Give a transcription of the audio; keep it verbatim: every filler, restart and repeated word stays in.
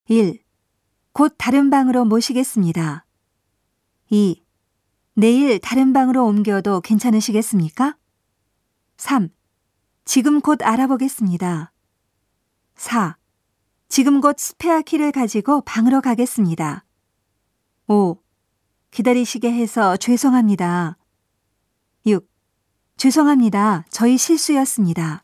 일. 곧 다른 방으로 모시겠습니다. 이. 내일 다른 방으로 옮겨도 괜찮으시겠습니까? 삼. 지금 곧 알아보겠습니다. 사. 지금 곧 스페어 키를 가지고 방으로 가겠습니다. 오. 기다리시게 해서 죄송합니다. 육. 죄송합니다. 저희 실수였습니다.